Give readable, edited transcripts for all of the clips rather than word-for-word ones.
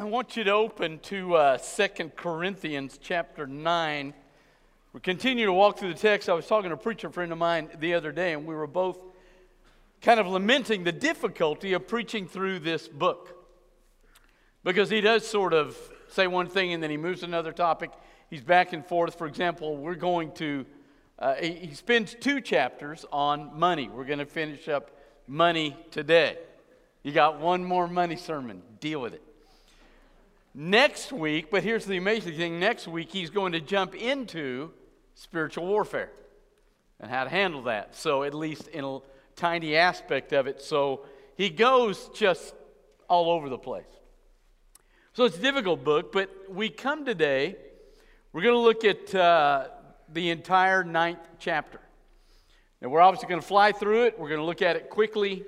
I want you to open to 2 Corinthians chapter 9. We continue to walk through the text. I was talking to a preacher friend of mine the other day, and we were both kind of lamenting the difficulty of preaching through this book. Because he does sort of say one thing and then he moves to another topic. He's back and forth. For example, we're going to, he spends 2 chapters on money. We're going to finish up money today. You got one more money sermon. Deal with it. Next week, but here's the amazing thing, next week he's going to jump into spiritual warfare and how to handle that. So at least in a tiny aspect of it. So he goes just all over the place. So it's a difficult book, but we come today, we're going to look at the entire 9th chapter. And we're obviously going to fly through it. We're going to look at it quickly.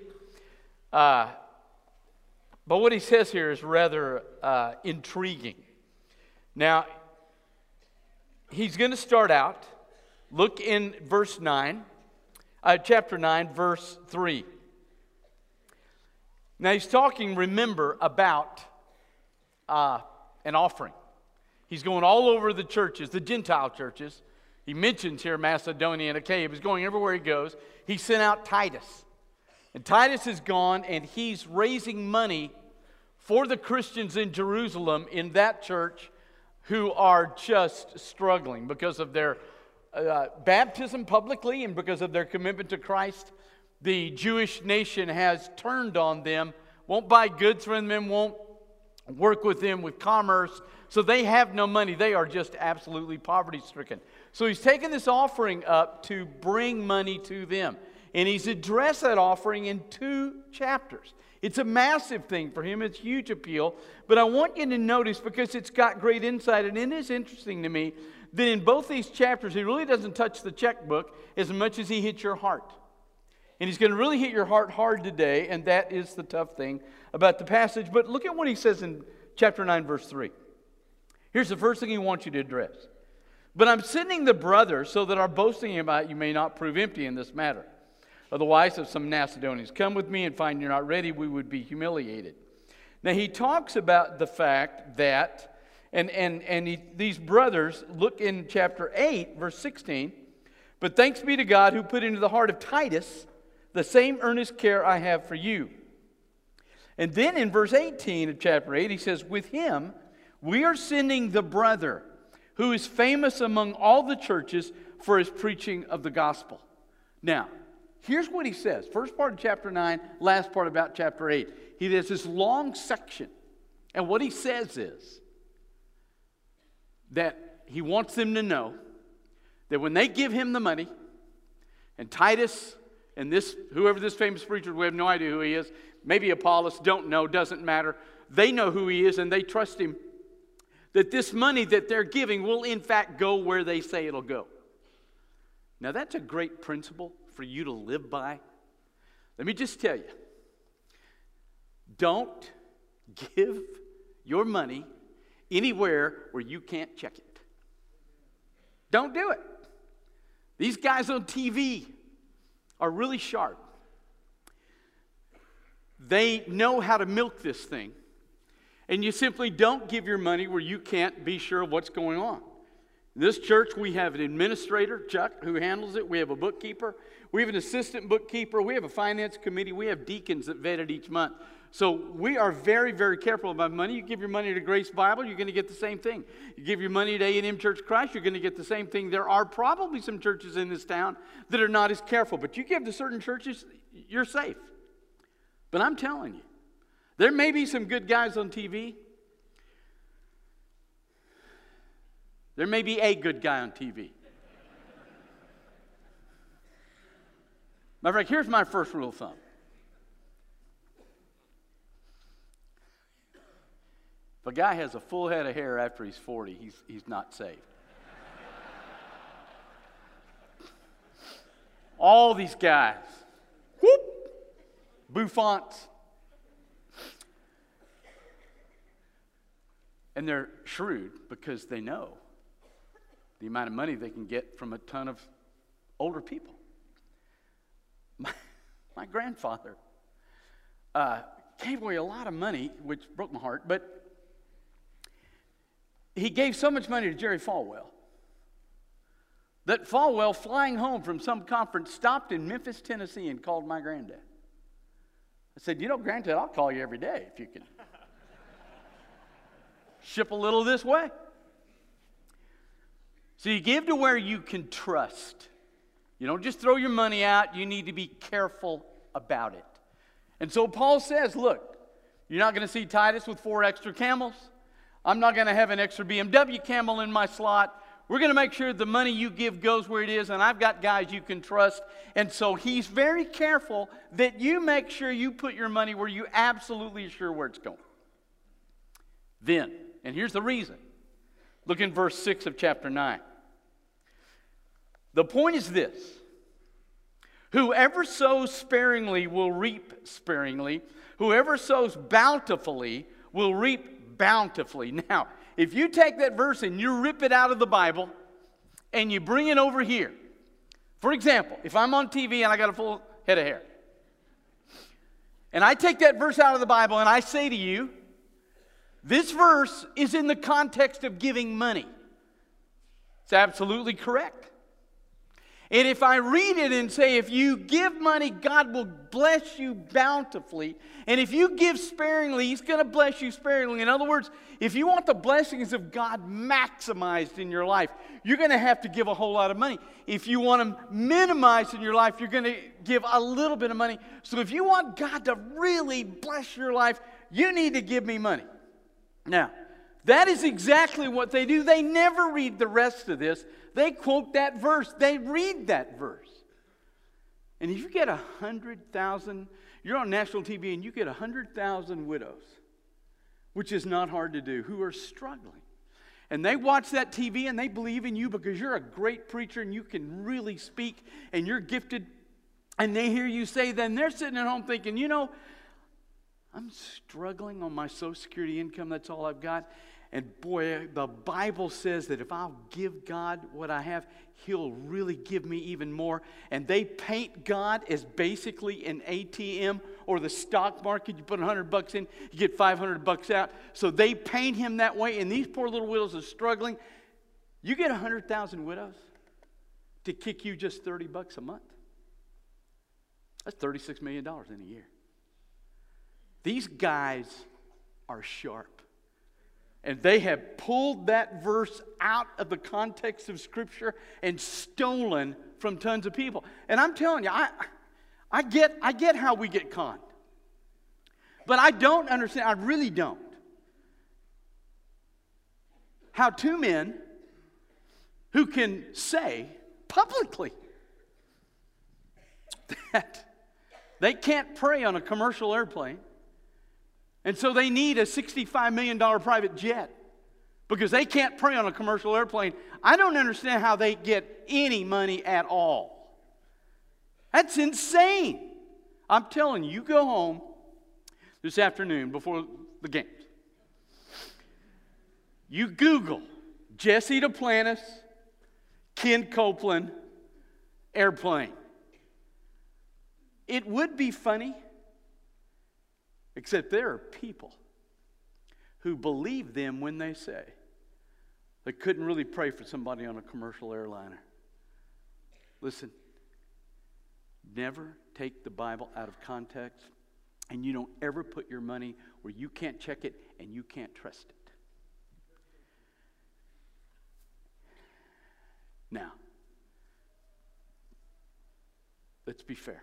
But what he says here is rather intriguing. Now, he's going to start out, look in verse 9, chapter 9, verse 3. Now, he's talking, remember, about an offering. He's going all over the churches, the Gentile churches. He mentions here Macedonia and Achaia. He's going everywhere he goes. He sent out Titus. And Titus is gone, and he's raising money for the Christians in Jerusalem in that church who are just struggling because of their baptism publicly and because of their commitment to Christ. The Jewish nation has turned on them, won't buy goods from them, won't work with them with commerce. So they have no money. They are just absolutely poverty-stricken. So he's taken this offering up to bring money to them. And he's addressed that offering in 2 chapters. It's a massive thing for him. It's a huge appeal. But I want you to notice, because it's got great insight, and it is interesting to me, that in both these chapters, he really doesn't touch the checkbook as much as he hits your heart. And he's going to really hit your heart hard today, and that is the tough thing about the passage. But look at what he says in chapter 9, verse 3. Here's the first thing he wants you to address. But I'm sending the brothers so that our boasting about you may not prove empty in this matter. Otherwise, if some Macedonians come with me and find you're not ready, we would be humiliated. Now, he talks about the fact that, these brothers, look in chapter 8, verse 16, but thanks be to God who put into the heart of Titus the same earnest care I have for you. And then in verse 18 of chapter 8, he says, with him we are sending the brother who is famous among all the churches for his preaching of the gospel. Now, here's what he says. First part of chapter 9, last part about chapter 8. He has this long section. And what he says is that he wants them to know that when they give him the money, and Titus and whoever this famous preacher, we have no idea who he is, maybe Apollos, don't know, doesn't matter. They know who he is and they trust him. That this money that they're giving will in fact go where they say it'll go. Now that's a great principle for you to live by. Let me just tell you, don't give your money anywhere where you can't check it. Don't do it. These guys on TV are really sharp. They know how to milk this thing. And you simply don't give your money where you can't be sure of what's going on. In this church, we have an administrator, Chuck, who handles it. We have a bookkeeper. We have an assistant bookkeeper. We have a finance committee. We have deacons that vet it each month. So we are very, very careful about money. You give your money to Grace Bible, you're going to get the same thing. You give your money to A&M Church Christ, you're going to get the same thing. There are probably some churches in this town that are not as careful. But you give to certain churches, you're safe. But I'm telling you, there may be some good guys on TV. There may be a good guy on TV. Matter of fact, here's my first rule of thumb. If a guy has a full head of hair after he's 40, he's not saved. All these guys, whoop, bouffants. And they're shrewd because they know the amount of money they can get from a ton of older people. My grandfather gave away a lot of money, which broke my heart, but he gave so much money to Jerry Falwell that Falwell, flying home from some conference, stopped in Memphis, Tennessee, and called my granddad. I said, you know, Granddad, I'll call you every day if you can ship a little this way. So you give to where you can trust. You don't just throw your money out. You need to be careful about it. And so Paul says, look, you're not going to see Titus with 4 extra camels. I'm not going to have an extra BMW camel in my slot. We're going to make sure the money you give goes where it is, and I've got guys you can trust. And so he's very careful that you make sure you put your money where you absolutely are sure where it's going. Then, and here's the reason. Look in verse 6 of chapter 9. The point is this. Whoever sows sparingly will reap sparingly. Whoever sows bountifully will reap bountifully. Now, if you take that verse and you rip it out of the Bible and you bring it over here. For example, if I'm on TV and I got a full head of hair, and I take that verse out of the Bible and I say to you, this verse is in the context of giving money. It's absolutely correct. And if I read it and say, if you give money, God will bless you bountifully. And if you give sparingly, He's going to bless you sparingly. In other words, if you want the blessings of God maximized in your life, you're going to have to give a whole lot of money. If you want them minimized in your life, you're going to give a little bit of money. So if you want God to really bless your life, you need to give me money. Now, that is exactly what they do. They never read the rest of this. They quote that verse. They read that verse. And if you get 100,000, you're on national TV and you get 100,000 widows, which is not hard to do, who are struggling. And they watch that TV and they believe in you because you're a great preacher and you can really speak and you're gifted. And they hear you say that, and they're sitting at home thinking, you know, I'm struggling on my Social Security income. That's all I've got. And boy, the Bible says that if I'll give God what I have, He'll really give me even more. And they paint God as basically an ATM or the stock market. You put $100 in, you get $500 out. So they paint Him that way. And these poor little widows are struggling. You get 100,000 widows to kick you just $30 a month. That's $36 million in a year. These guys are sharp. And they have pulled that verse out of the context of Scripture and stolen from tons of people. And I'm telling you, I get how we get conned. But I don't understand, I really don't, how two men who can say publicly that they can't pray on a commercial airplane, and so they need a $65 million private jet because they can't pray on a commercial airplane. I don't understand how they get any money at all. That's insane. I'm telling you, you go home this afternoon before the games. You Google Jesse Duplantis, Ken Copeland, airplane. It would be funny. Except there are people who believe them when they say they couldn't really pray for somebody on a commercial airliner. Listen, never take the Bible out of context, and you don't ever put your money where you can't check it and you can't trust it. Now, let's be fair.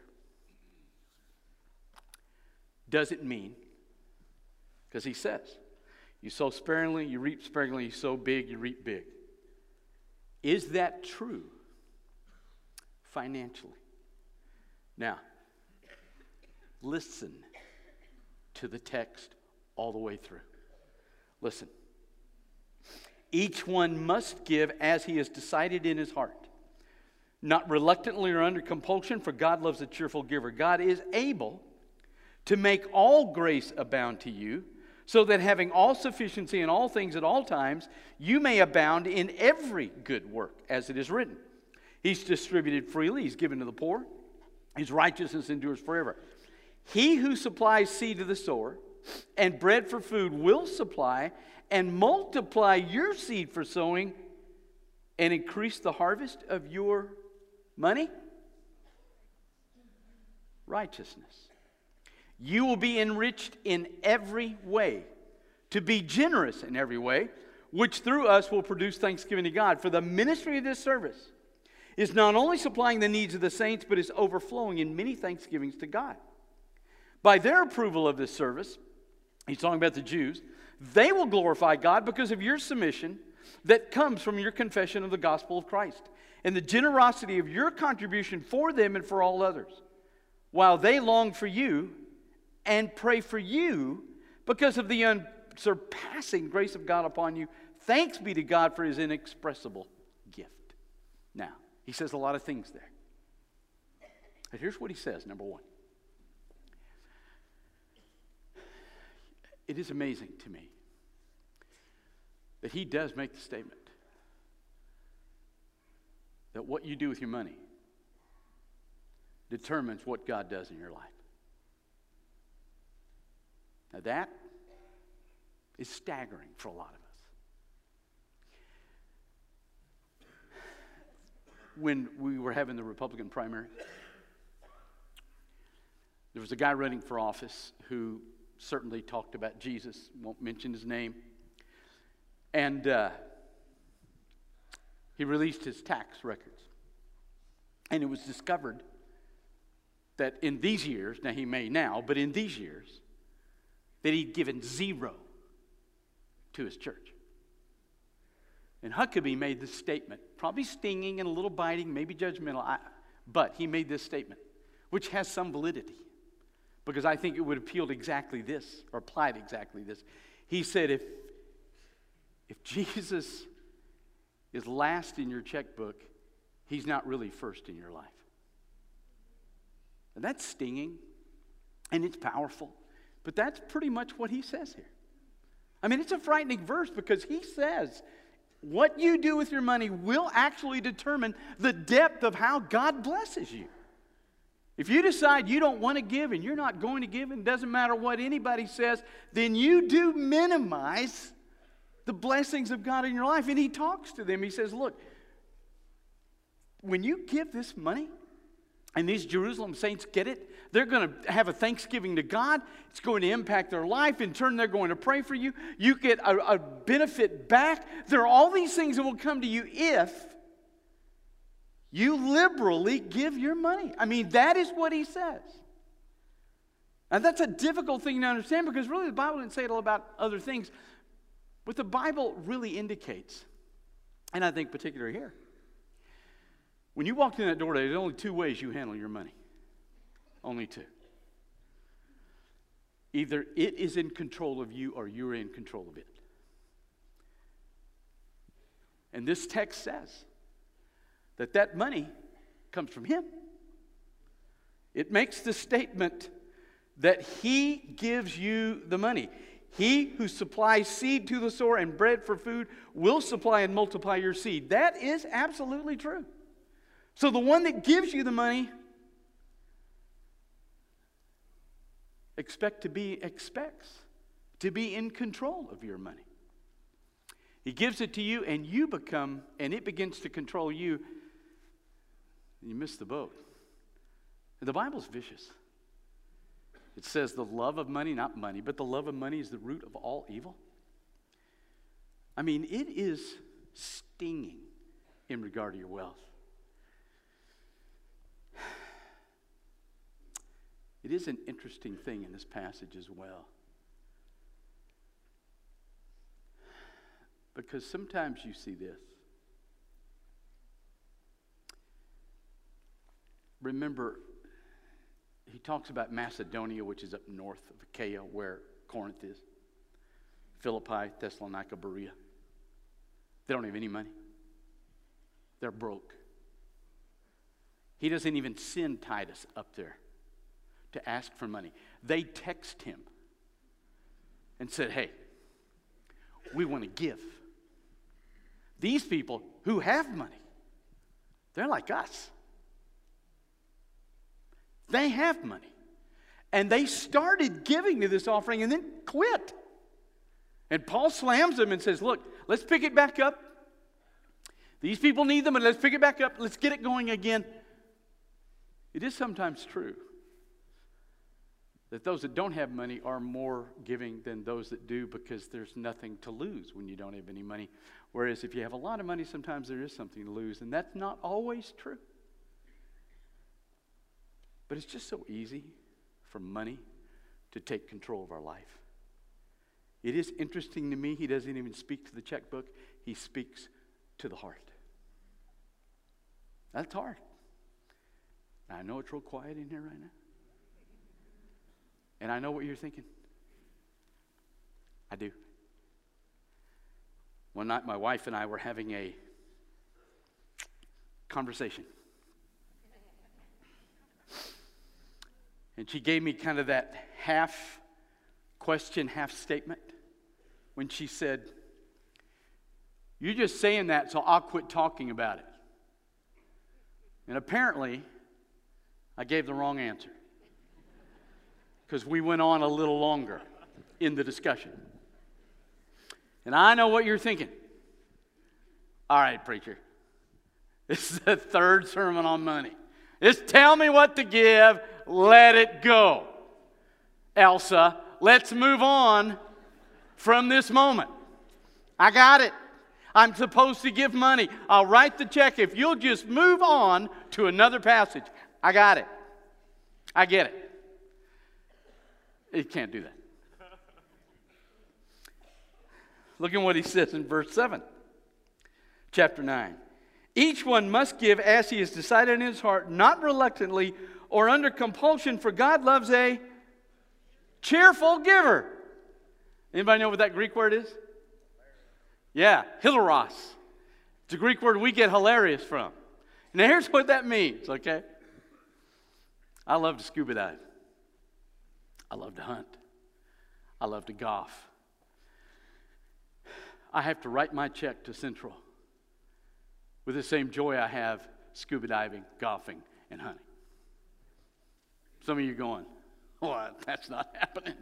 Doesn't mean, because he says, you sow sparingly, you reap sparingly, you sow big, you reap big. Is that true financially? Now, listen to the text all the way through. Listen. Each one must give as he has decided in his heart, not reluctantly or under compulsion, for God loves a cheerful giver. God is able to make all grace abound to you, so that having all sufficiency in all things at all times, you may abound in every good work, as it is written. He's distributed freely, He's given to the poor, His righteousness endures forever. He who supplies seed to the sower and bread for food will supply and multiply your seed for sowing and increase the harvest of your money? Righteousness. You will be enriched in every way, to be generous in every way, which through us will produce thanksgiving to God. For the ministry of this service is not only supplying the needs of the saints, but is overflowing in many thanksgivings to God. By their approval of this service, he's talking about the Jews, they will glorify God because of your submission that comes from your confession of the gospel of Christ and the generosity of your contribution for them and for all others, while they long for you and pray for you because of the unsurpassing grace of God upon you. Thanks be to God for his inexpressible gift. Now, he says a lot of things there. But here's what he says, number one. It is amazing to me that he does make the statement that what you do with your money determines what God does in your life. Now that is staggering for a lot of us. When we were having the Republican primary, there was a guy running for office who certainly talked about Jesus, won't mention his name, and he released his tax records. And it was discovered that in these years, now he may now, but in these years, that he'd given zero to his church. And Huckabee made this statement, probably stinging and a little biting, maybe judgmental, but he made this statement, which has some validity, because I think it would appeal to exactly this, or apply to exactly this. He said, if Jesus is last in your checkbook, he's not really first in your life. And that's stinging, and it's powerful, but that's pretty much what he says here. I mean, it's a frightening verse because he says what you do with your money will actually determine the depth of how God blesses you. If you decide you don't want to give and you're not going to give, and it doesn't matter what anybody says, then you do minimize the blessings of God in your life. And he talks to them. He says, look, when you give this money, and these Jerusalem saints get it, they're going to have a thanksgiving to God. It's going to impact their life. In turn, they're going to pray for you. You get a benefit back. There are all these things that will come to you if you liberally give your money. I mean, that is what he says. And that's a difficult thing to understand because really the Bible didn't say it all about other things. What the Bible really indicates, and I think particularly here, when you walk in that door today, there's only two ways you handle your money. Only two. Either it is in control of you or you're in control of it. And this text says that that money comes from him. It makes the statement that he gives you the money. He who supplies seed to the sower and bread for food will supply and multiply your seed. That is absolutely true. So the one that gives you the money expects to be in control of your money. He gives it to you and it begins to control you. You miss the boat. And the Bible's vicious. It says the love of money, not money, but the love of money is the root of all evil. I mean, it is stinging in regard to your wealth. It is an interesting thing in this passage as well. Because sometimes you see this. Remember, he talks about Macedonia, which is up north of Achaia, where Corinth is. Philippi, Thessalonica, Berea. They don't have any money. They're broke. He doesn't even send Titus up there to ask for money. They text him and said, hey, we want to give. These people who have money, they're like us. They have money. And they started giving to this offering and then quit. And Paul slams them and says, look, let's pick it back up. These people need them, and let's pick it back up. Let's get it going again. It is sometimes true that those that don't have money are more giving than those that do, because there's nothing to lose when you don't have any money. Whereas if you have a lot of money, sometimes there is something to lose, and that's not always true. But it's just so easy for money to take control of our life. It is interesting to me, he doesn't even speak to the checkbook, he speaks to the heart. That's hard. I know it's real quiet in here right now. And I know what you're thinking. I do. One night my wife and I were having a conversation. And she gave me kind of that half question, half statement when she said, "You're just saying that so I'll quit talking about it." And apparently, I gave the wrong answer, because we went on a little longer in the discussion. And I know what you're thinking. All right, preacher, this is the third sermon on money. Just tell me what to give, let it go. Elsa, let's move on from this moment. I got it. I'm supposed to give money. I'll write the check if you'll just move on to another passage. I got it. I get it. You can't do that. Look at what he says in verse 7, chapter 9. Each one must give as he has decided in his heart, not reluctantly or under compulsion, for God loves a cheerful giver. Anybody know what that Greek word is? Yeah, hilaros. It's a Greek word we get hilarious from. Now here's what that means, okay? I love to scuba dive. I love to hunt. I love to golf. I have to write my check to Central with the same joy I have scuba diving, golfing, and hunting. Some of you are going, "Oh, that's not happening."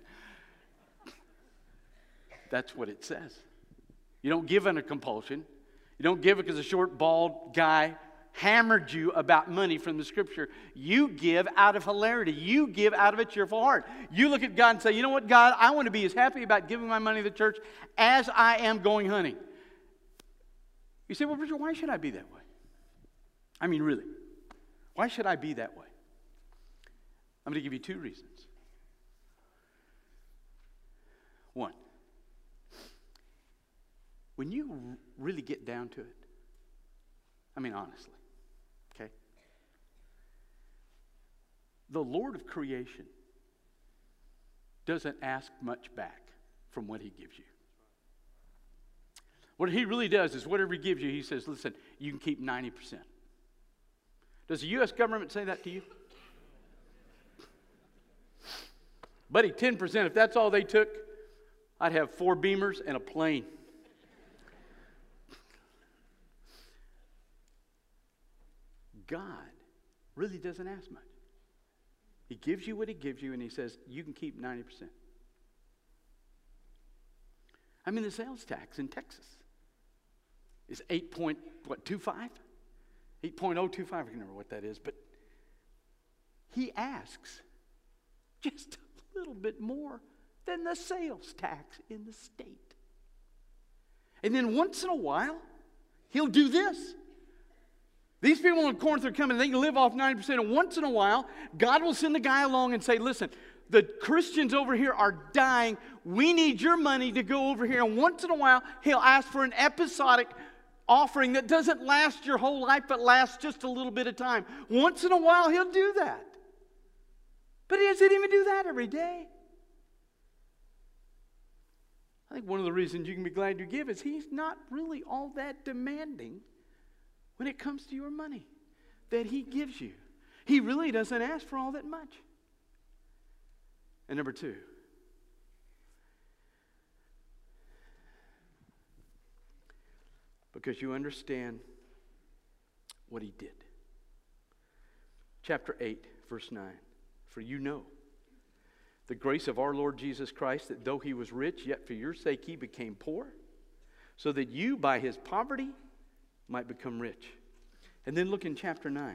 That's what it says. You don't give under compulsion. You don't give it because a short, bald guy hammered you about money from the Scripture. You give out of hilarity. You give out of a cheerful heart. You look at God and say, "You know what, God, I want to be as happy about giving my money to the church as I am going hunting." You say, "Well, Richard, why should I be that way?" I mean, really, why should I be that way? I'm going to give you two reasons. One, when you really get down to it, I mean, honestly, okay? The Lord of creation doesn't ask much back from what he gives you. What he really does is whatever he gives you, he says, "Listen, you can keep 90%. Does the U.S. government say that to you? Buddy, 10%, if that's all they took, I'd have 4 Beamers and a plane. God really doesn't ask much. He gives you what he gives you, and he says, you can keep 90%. I mean, the sales tax in Texas is 8.25? 8.025, I can't remember what that is, but he asks just a little bit more than the sales tax in the state. And then once in a while, he'll do this. These people in Corinth are coming, they can live off 90%, and once in a while, God will send a guy along and say, "Listen, the Christians over here are dying. We need your money to go over here." And once in a while, he'll ask for an episodic offering that doesn't last your whole life, but lasts just a little bit of time. Once in a while, he'll do that. But he doesn't even do that every day. I think one of the reasons you can be glad you give is he's not really all that demanding when it comes to your money that he gives you. He really doesn't ask for all that much. And number two, because you understand what he did. Chapter 8, verse 9. For you know The grace of our Lord Jesus Christ, that though he was rich, yet for your sake he became poor, so that you by his poverty might become rich. And then look in chapter 9.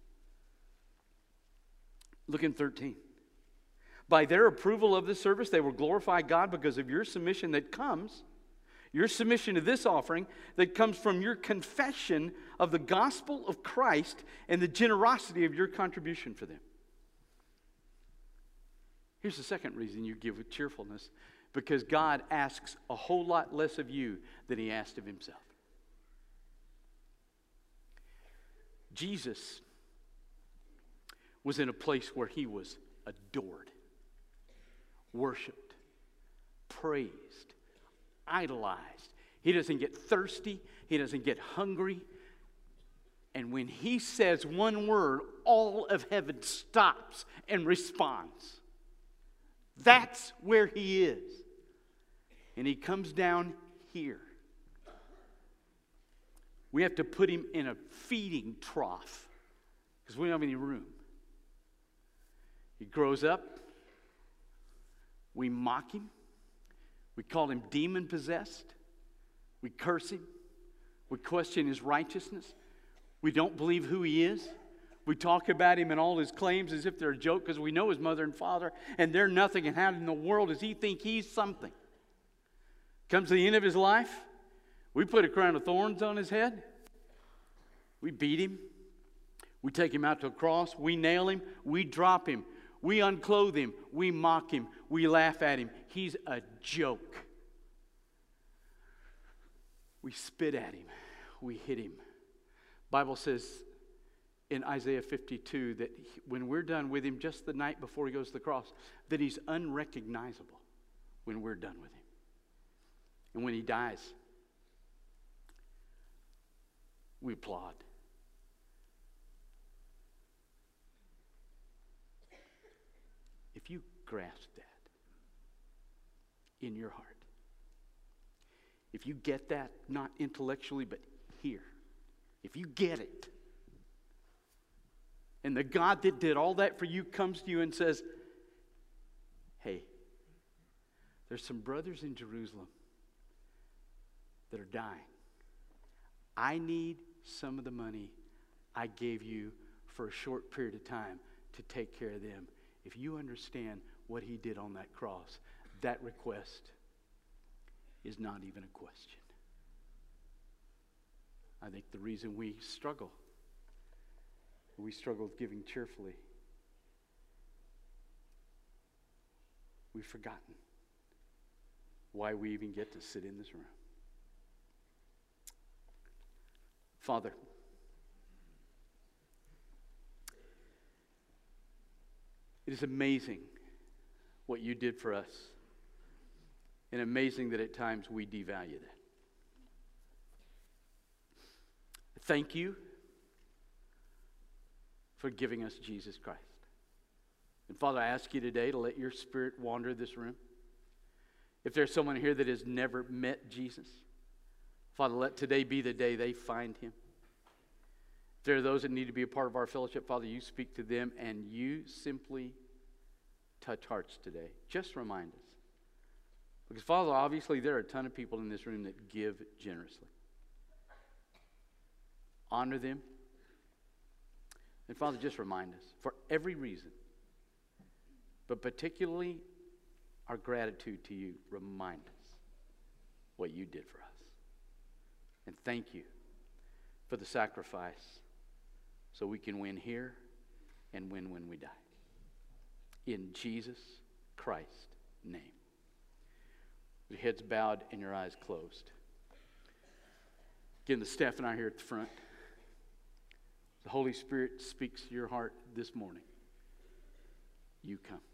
Look in 13. By their approval of this service, they will glorify God because of your submission that comes, your submission to this offering that comes from your confession of the gospel of Christ and the generosity of your contribution for them. Here's the second reason you give with cheerfulness. Because God asks a whole lot less of you than he asked of himself. Jesus was in a place where he was adored, worshiped, praised, idolized. He doesn't get thirsty. He doesn't get hungry. And when he says one word, all of heaven stops and responds. That's where he is. And he comes down here. We have to put him in a feeding trough because we don't have any room. He grows up. We mock him. We call him demon-possessed. We curse him. We question his righteousness. We don't believe who he is. We talk about him and all his claims as if they're a joke because we know his mother and father and they're nothing. And how in the world does he think he's something? Comes to the end of his life, we put a crown of thorns on his head. We beat him. We take him out to a cross. We nail him. We drop him. We unclothe him. We mock him. We laugh at him. He's a joke. We spit at him. We hit him. Bible says in Isaiah 52 that when we're done with him, just the night before he goes to the cross, that he's unrecognizable when we're done with him. And when he dies, we applaud. If you grasp that in your heart, if you get that, not intellectually, but here, if you get it, and the God that did all that for you comes to you and says, hey, there's some brothers in Jerusalem that are dying. I need some of the money I gave you for a short period of time to take care of them. If you understand what he did on that cross, that request is not even a question. I think the reason we struggle with giving cheerfully, we've forgotten why we even get to sit in this room. Father, it is amazing what you did for us, and amazing that at times we devalue that. Thank you for giving us Jesus Christ. And Father, I ask you today to let your Spirit wander this room. If there's someone here that has never met Jesus, Father, let today be the day they find him. If there are those that need to be a part of our fellowship, Father, you speak to them and you simply touch hearts today. Just remind us. Because, Father, obviously there are a ton of people in this room that give generously. Honor them. And, Father, just remind us, for every reason, but particularly our gratitude to you, remind us what you did for us. And thank you for the sacrifice so we can win here and win when we die. In Jesus Christ's name. With your heads bowed and your eyes closed. Again, the staff and I are here at the front. The Holy Spirit speaks to your heart this morning. You come.